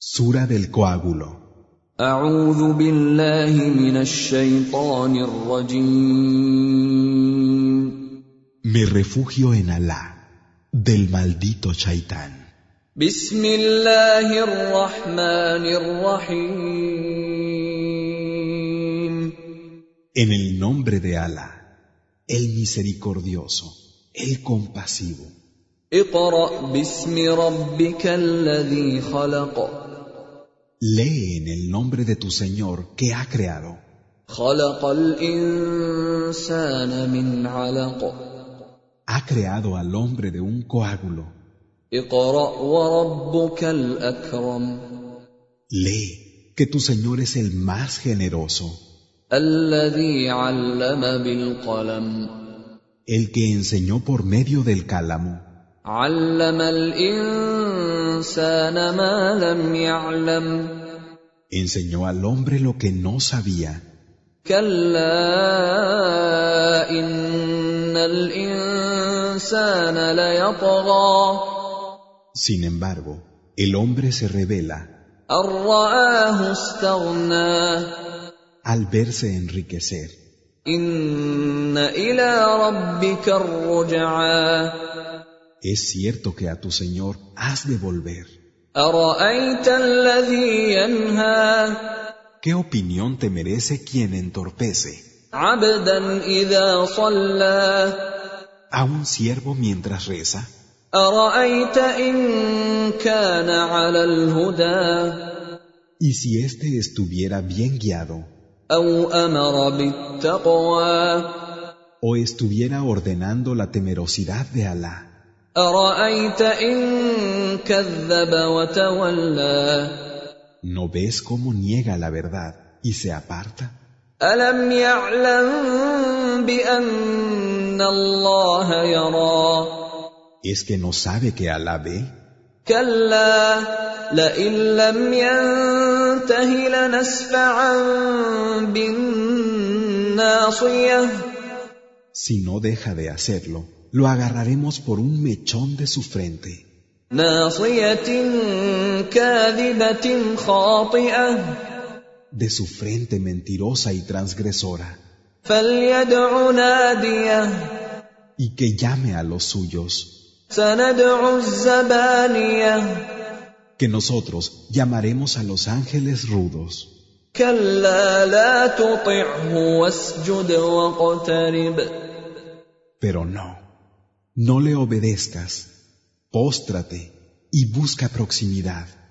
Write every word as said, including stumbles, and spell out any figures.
Sura del coágulo. أعوذ بالله من الشيطان الرجيم. Me refugio en Alá, del maldito Shaitán. بسم الله الرحمن الرحيم. En el nombre de Alá, el misericordioso, el compasivo. اقرأ باسم ربك الذي خلق. Lee en el nombre de tu Señor que ha creado. خلق الإنسان من علق. Ha creado al hombre de un coágulo. اقرأ وربك الأكرم. Lee que tu Señor es el más generoso. الذي علم بالقلم. El que enseñó por medio del cálamo. علم الإنسان ما لم يعلم. Enseñó al hombre lo que no sabía. كلا إن الإنسان ليطغى. Sin embargo, el hombre se rebela أن رآه استغنى. al verse enriquecer. إن إلى ربك الرجعى. Es cierto que a tu Señor has de volver. أرأيت الذي ينهى. ¿Qué opinión te merece quien entorpece عبدا إذا صلى. a un siervo mientras reza? أرأيت إن كان على الهدى. Y si éste estuviera bien guiado أو أمر بالتقوى. o estuviera ordenando la temerosidad de Alá? أرأيت إن كذب وتولى. ¿No ves cómo niega la verdad y se aparta? ألم يعلم بأن الله يرى. ¿Es que no sabe que Alá ve? كلا لئن لم ينته لنسفعا بالناصية. Si no deja de hacerlo, lo agarraremos por un mechón de su frente. ناصية كاذبة خاطئة. De su frente mentirosa y transgresora. فليدع ناديه. Y que llame a los suyos. سندع الزبانية. Que nosotros llamaremos a los ángeles rudos. كلا لا تطعه واسجد واقترب. Pero no, no le obedezcas, póstrate y busca proximidad.